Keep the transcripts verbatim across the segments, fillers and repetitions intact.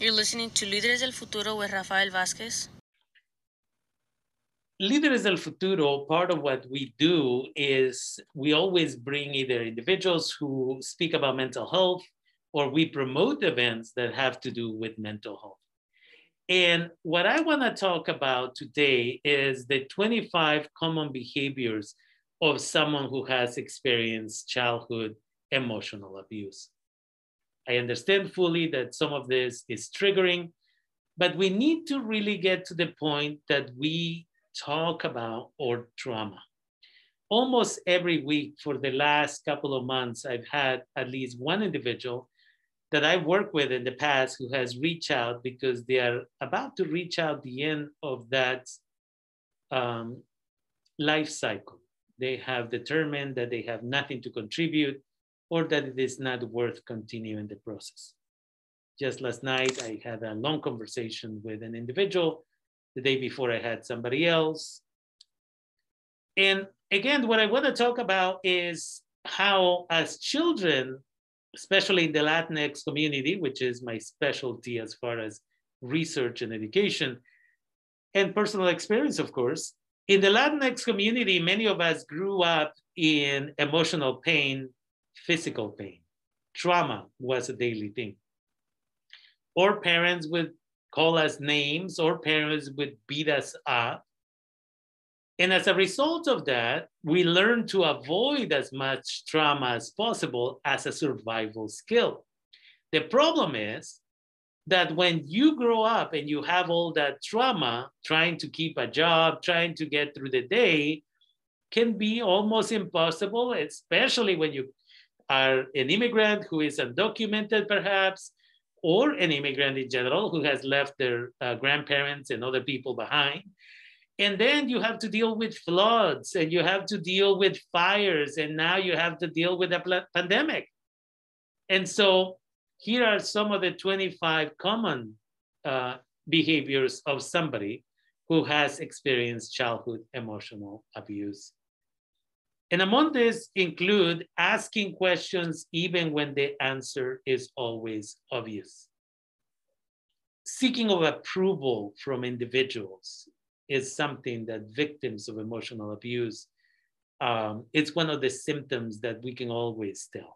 You're listening to Líderes del Futuro with Rafael Vázquez. Líderes del Futuro, part of what we do is we always bring either individuals who speak about mental health, or we promote events that have to do with mental health. And what I want to talk about today is the twenty-five common behaviors of someone who has experienced childhood emotional abuse. I understand fully that some of this is triggering, but we need to really get to the point that we talk about our trauma. Almost every week for the last couple of months, I've had at least one individual that I worked with in the past who has reached out because they are about to reach out the end of that um, life cycle. They have determined that they have nothing to contribute or that it is not worth continuing the process. Just last night, I had a long conversation with an individual. The day before, I had somebody else. And again, what I want to talk about is how, as children, especially in the Latinx community, which is my specialty as far as research and education, and personal experience, of course, in the Latinx community, many of us grew up in emotional pain, physical pain. Trauma was a daily thing. Or parents would call us names, or parents would beat us up. And as a result of that, we learn to avoid as much trauma as possible as a survival skill. The problem is that when you grow up and you have all that trauma, trying to keep a job, trying to get through the day, can be almost impossible, especially when you are an immigrant who is undocumented, perhaps, or an immigrant in general who has left their uh, grandparents and other people behind. And then you have to deal with floods, and you have to deal with fires, and now you have to deal with a pl- pandemic. And so here are some of the twenty-five common uh, behaviors of somebody who has experienced childhood emotional abuse. And among this include asking questions even when the answer is always obvious. Seeking of approval from individuals is something that victims of emotional abuse, um, it's one of the symptoms that we can always tell.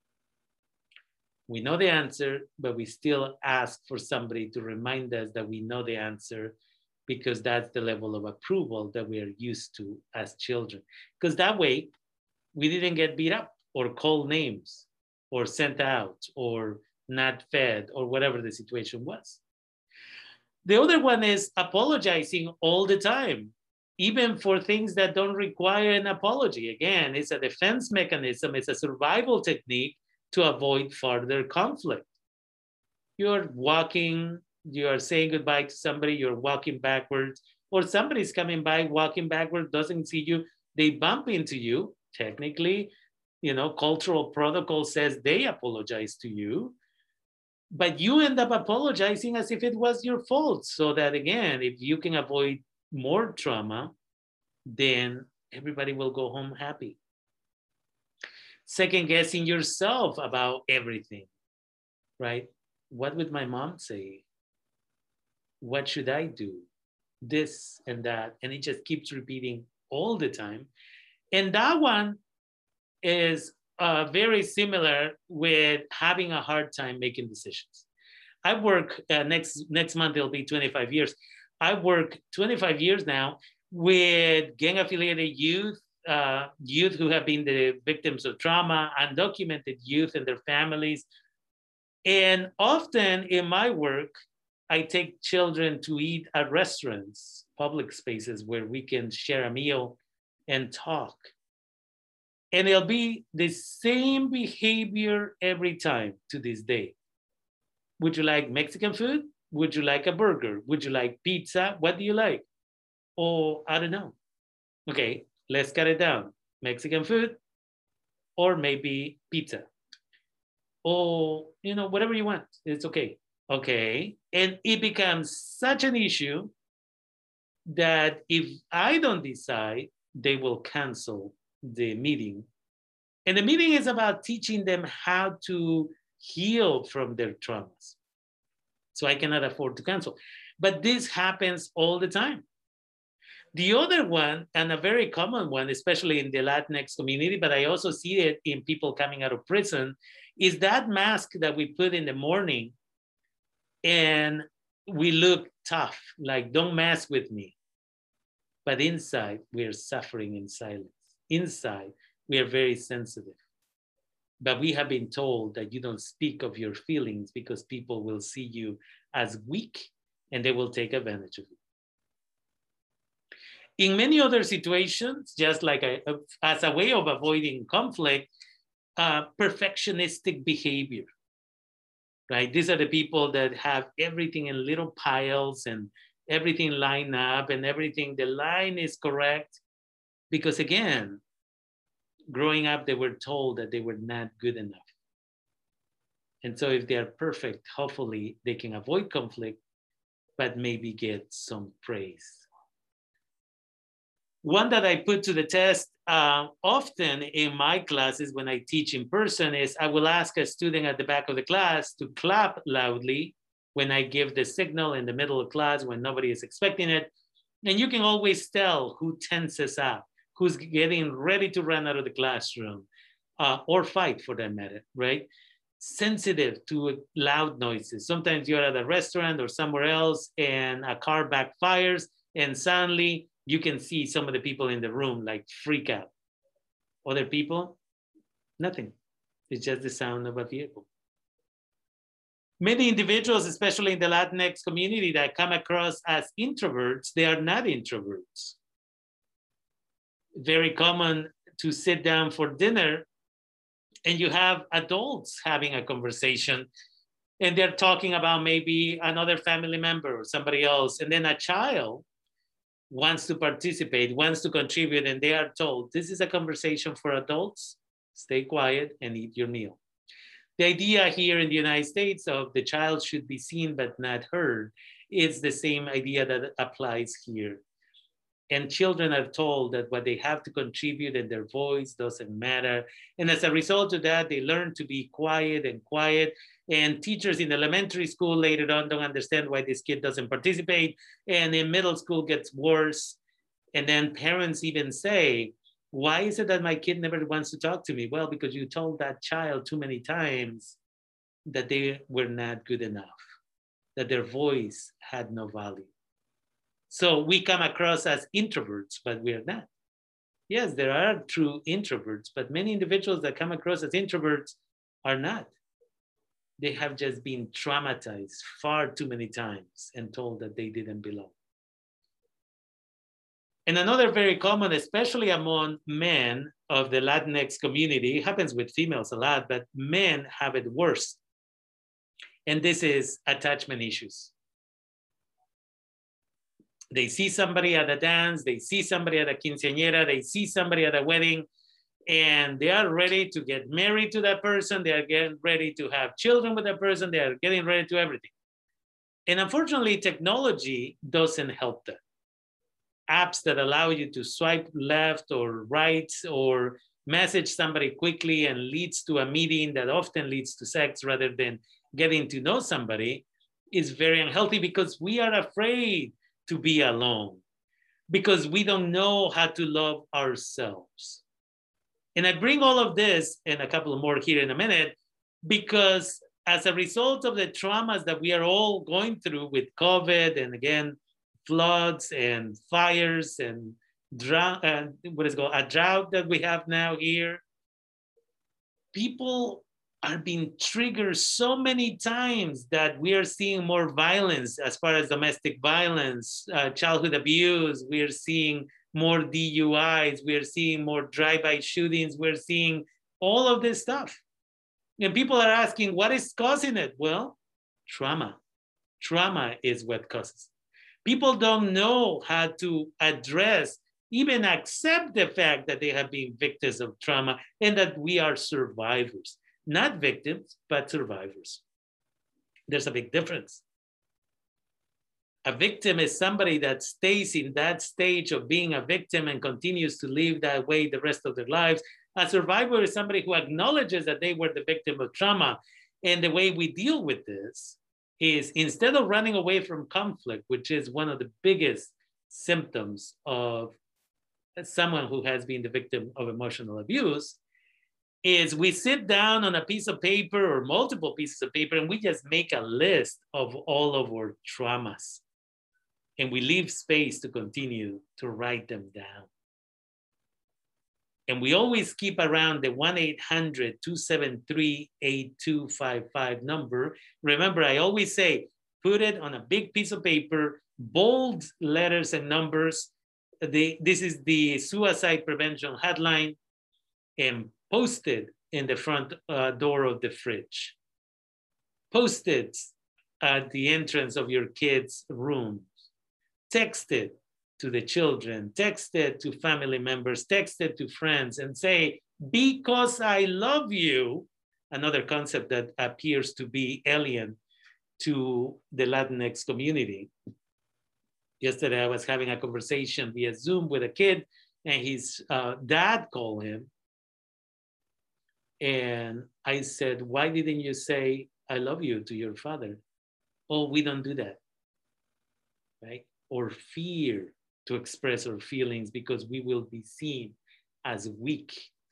We know the answer, but we still ask for somebody to remind us that we know the answer, because that's the level of approval that we are used to as children. Because that way, we didn't get beat up or called names or sent out or not fed or whatever the situation was. The other one is apologizing all the time, even for things that don't require an apology. Again, it's a defense mechanism, it's a survival technique to avoid further conflict. You're walking, you're saying goodbye to somebody, you're walking backwards, or somebody's coming by, walking backwards, doesn't see you, they bump into you. Technically, you know, cultural protocol says they apologize to you, but you end up apologizing as if it was your fault. So that, again, if you can avoid more trauma, then everybody will go home happy. Second guessing yourself about everything, right? What would my mom say? What should I do? This and that. And it just keeps repeating all the time. And that one is uh, very similar with having a hard time making decisions. I work, uh, next, next month, it'll be twenty-five years. I work twenty-five years now with gang-affiliated youth, uh, youth who have been the victims of trauma, undocumented youth and their families. And often in my work, I take children to eat at restaurants, public spaces where we can share a meal and talk. And it'll be the same behavior every time to this day. Would you like Mexican food? Would you like a burger? Would you like pizza? What do you like? Oh, I don't know. Okay, let's cut it down. Mexican food, or maybe pizza. Or, you know, whatever you want. It's okay. Okay. And it becomes such an issue that if I don't decide, they will cancel the meeting. And the meeting is about teaching them how to heal from their traumas. so I cannot afford to cancel. But this happens all the time. The other one, and a very common one, especially in the Latinx community, but I also see it in people coming out of prison, is that mask that we put in the morning and we look tough, like don't mess with me. But inside, we are suffering in silence. Inside, we are very sensitive. But we have been told that you don't speak of your feelings because people will see you as weak and they will take advantage of you. In many other situations, just like a, as a way of avoiding conflict, uh, perfectionistic behavior, right? These are the people that have everything in little piles and everything lined up and everything, the line is correct. Because again, growing up, they were told that they were not good enough. And so if they are perfect, hopefully they can avoid conflict, but maybe get some praise. One that I put to the test uh, often in my classes when I teach in person is I will ask a student at the back of the class to clap loudly when I give the signal in the middle of class when nobody is expecting it. And you can always tell who tenses up, who's getting ready to run out of the classroom uh, or fight for that matter, right? Sensitive to loud noises. Sometimes you're at a restaurant or somewhere else and a car backfires and suddenly you can see some of the people in the room like freak out. Other people, nothing. It's just the sound of a vehicle. Many individuals, especially in the Latinx community that come across as introverts, they are not introverts. Very common to sit down for dinner and you have adults having a conversation and they're talking about maybe another family member or somebody else. And then a child wants to participate, wants to contribute, and they are told, this is a conversation for adults, stay quiet and eat your meal. The idea here in the United States of the child should be seen but not heard is the same idea that applies here. And children are told that what they have to contribute and their voice doesn't matter. And as a result of that, they learn to be quiet and quiet. And teachers in elementary school later on don't understand why this kid doesn't participate. And in middle school gets worse. And then parents even say, why is it that my kid never wants to talk to me? Well, because you told that child too many times that they were not good enough, that their voice had no value. So we come across as introverts, but we are not. Yes, there are true introverts, but many individuals that come across as introverts are not. They have just been traumatized far too many times and told that they didn't belong. And another very common, especially among men of the Latinx community, it happens with females a lot, but men have it worse. And this is attachment issues. They see somebody at a dance, they see somebody at a quinceañera, they see somebody at a wedding, and they are ready to get married to that person. They are getting ready to have children with that person. They are getting ready to everything. And unfortunately, technology doesn't help them. Apps that allow you to swipe left or right or message somebody quickly and leads to a meeting that often leads to sex rather than getting to know somebody is very unhealthy because we are afraid to be alone because we don't know how to love ourselves. And I bring all of this and a couple more here in a minute because as a result of the traumas that we are all going through with COVID and again, floods and fires and drought, uh, what is it called, a drought that we have now here, people are being triggered so many times that we are seeing more violence as far as domestic violence, uh, childhood abuse. We are seeing more D U Is. We are seeing more drive-by shootings. We're seeing all of this stuff. And people are asking, what is causing it? Well, trauma. Trauma is what causes it. People don't know how to address, even accept the fact that they have been victims of trauma and that we are survivors. Not victims, but survivors. There's a big difference. A victim is somebody that stays in that stage of being a victim and continues to live that way the rest of their lives. A survivor is somebody who acknowledges that they were the victim of trauma. And the way we deal with this is instead of running away from conflict, which is one of the biggest symptoms of someone who has been the victim of emotional abuse, is we sit down on a piece of paper or multiple pieces of paper and we just make a list of all of our traumas. And we leave space to continue to write them down. And we always keep around the one eight hundred, two seven three, eight two five five number. Remember, I always say, put it on a big piece of paper, bold letters and numbers. The, this is the suicide prevention hotline, and post it in the front uh, door of the fridge. Post it at the entrance of your kids' room. Text it to the children, text it to family members, text it to friends, and say, because I love you, another concept that appears to be alien to the Latinx community. Yesterday, I was having a conversation via Zoom with a kid, and his uh, dad called him. And I said, why didn't you say, I love you to your father? Oh, we don't do that, right? Or fear to express our feelings because we will be seen as weak.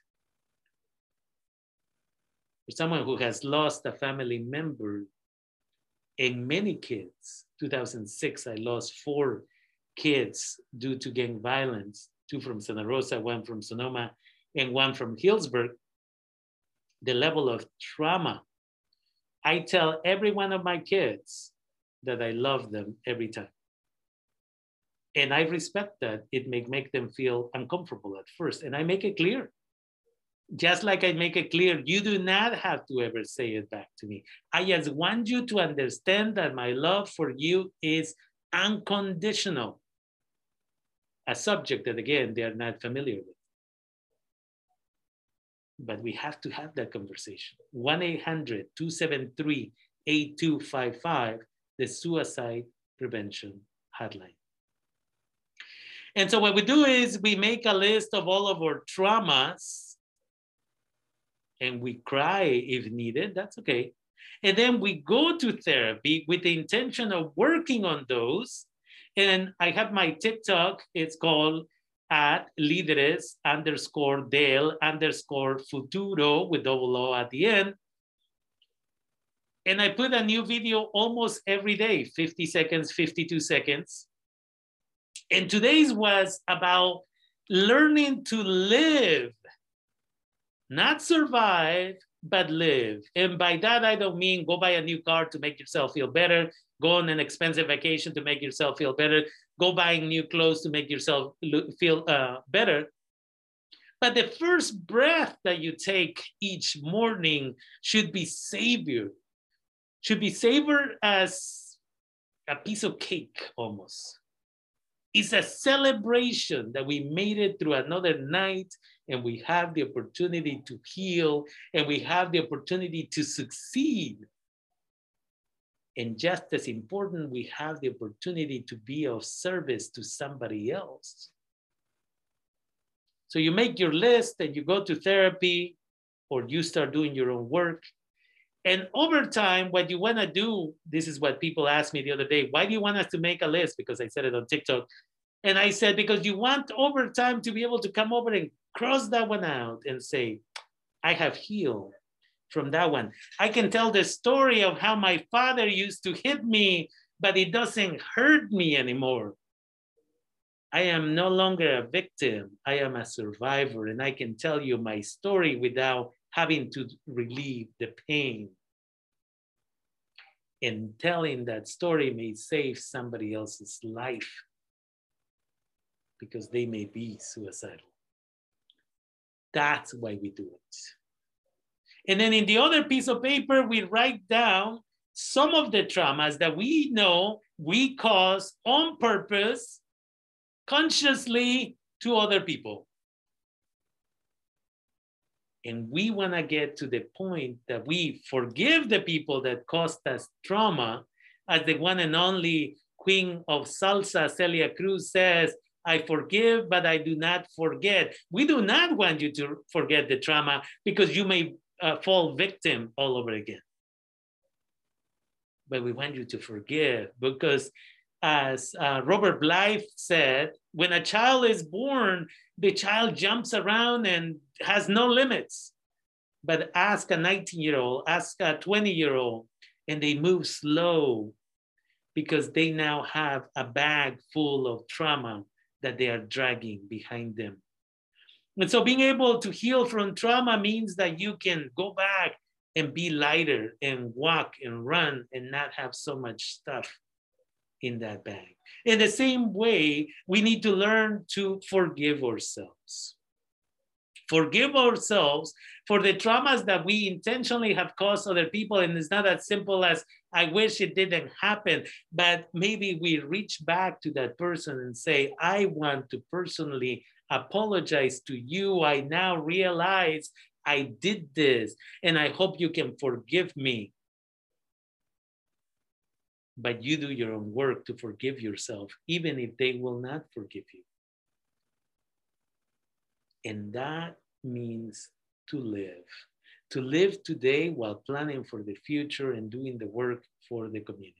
For someone who has lost a family member, and many kids, two thousand six, I lost four kids due to gang violence, two from Santa Rosa, one from Sonoma, and one from Hillsburg. The level of trauma. I tell every one of my kids that I love them every time. And I respect that. It may make them feel uncomfortable at first. And I make it clear. Just like I make it clear, you do not have to ever say it back to me. I just want you to understand that my love for you is unconditional. A subject that, again, they are not familiar with. But we have to have that conversation. one eight hundred, two seven three, eight two five five, the suicide prevention hotline. And so what we do is we make a list of all of our traumas and we cry if needed, that's okay. And then we go to therapy with the intention of working on those. And I have my TikTok, it's called at líderes underscore del underscore futuro with double O at the end. And I put a new video almost every day, fifty seconds, fifty-two seconds. And today's was about learning to live, not survive, but live. And by that, I don't mean go buy a new car to make yourself feel better, go on an expensive vacation to make yourself feel better, go buying new clothes to make yourself feel uh, better. But the first breath that you take each morning should be savored, should be savored as a piece of cake almost. It's a celebration that we made it through another night and we have the opportunity to heal and we have the opportunity to succeed. And just as important, we have the opportunity to be of service to somebody else. So you make your list and you go to therapy or you start doing your own work. And over time, what you want to do, this is what people asked me the other day, why do you want us to make a list? Because I said it on TikTok. And I said, because you want over time to be able to come over and cross that one out and say, I have healed from that one. I can tell the story of how my father used to hit me, but it doesn't hurt me anymore. I am no longer a victim. I am a survivor. And I can tell you my story without having to relieve the pain. And telling that story may save somebody else's life because they may be suicidal. That's why we do it. And then in the other piece of paper, we write down some of the traumas that we know we cause on purpose, consciously to other people. And we want to get to the point that we forgive the people that caused us trauma, as the one and only queen of salsa, Celia Cruz, says, I forgive, but I do not forget. We do not want you to forget the trauma because you may uh, fall victim all over again. but we want you to forgive, because as uh, Robert Blythe said, when a child is born, the child jumps around and has no limits. But ask a nineteen-year-old, ask a twenty-year-old, and they move slow because they now have a bag full of trauma that they are dragging behind them. And so being able to heal from trauma means that you can go back and be lighter and walk and run and not have so much stuff in that bag. In the same way, we need to learn to forgive ourselves. Forgive ourselves for the traumas that we intentionally have caused other people. And it's not as simple as, I wish it didn't happen, but maybe we reach back to that person and say, I want to personally apologize to you. I now realize I did this, and I hope you can forgive me. But you do your own work to forgive yourself, even if they will not forgive you. And that means to live. To live today while planning for the future and doing the work for the community.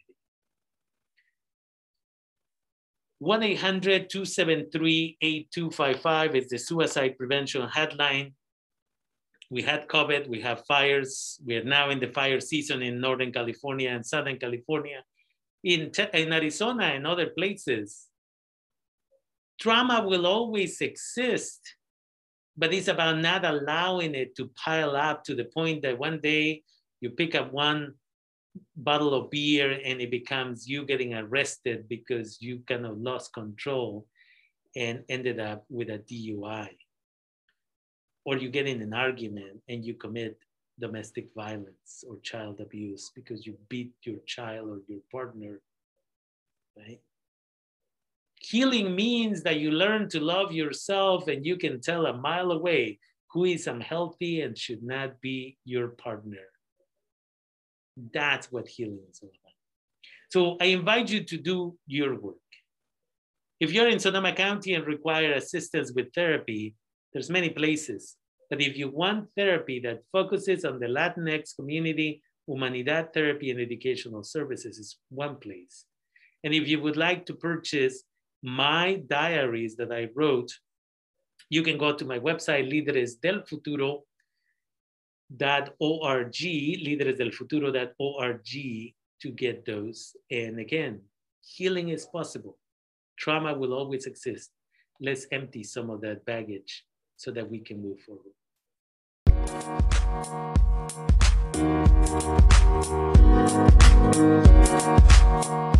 one eight hundred, two seven three, eight two five five is the suicide prevention hotline. We had COVID, we have fires. We are now in the fire season in Northern California and Southern California, in, in Arizona and other places. Trauma will always exist, but it's about not allowing it to pile up to the point that one day you pick up one bottle of beer and it becomes you getting arrested because you kind of lost control and ended up with a D U I. Or you get in an argument and you commit domestic violence or child abuse because you beat your child or your partner, right? Healing means that you learn to love yourself and you can tell a mile away who is unhealthy and should not be your partner. That's what healing is all about. So I invite you to do your work. If you're in Sonoma County and require assistance with therapy, there's many places. But if you want therapy that focuses on the Latinx community, Humanidad Therapy and Educational Services is one place. And if you would like to purchase my diaries that I wrote, you can go to my website, líderes del futuro dot org, líderes del futuro dot org, to get those. And again, healing is possible. Trauma will always exist. Let's empty some of that baggage so that we can move forward.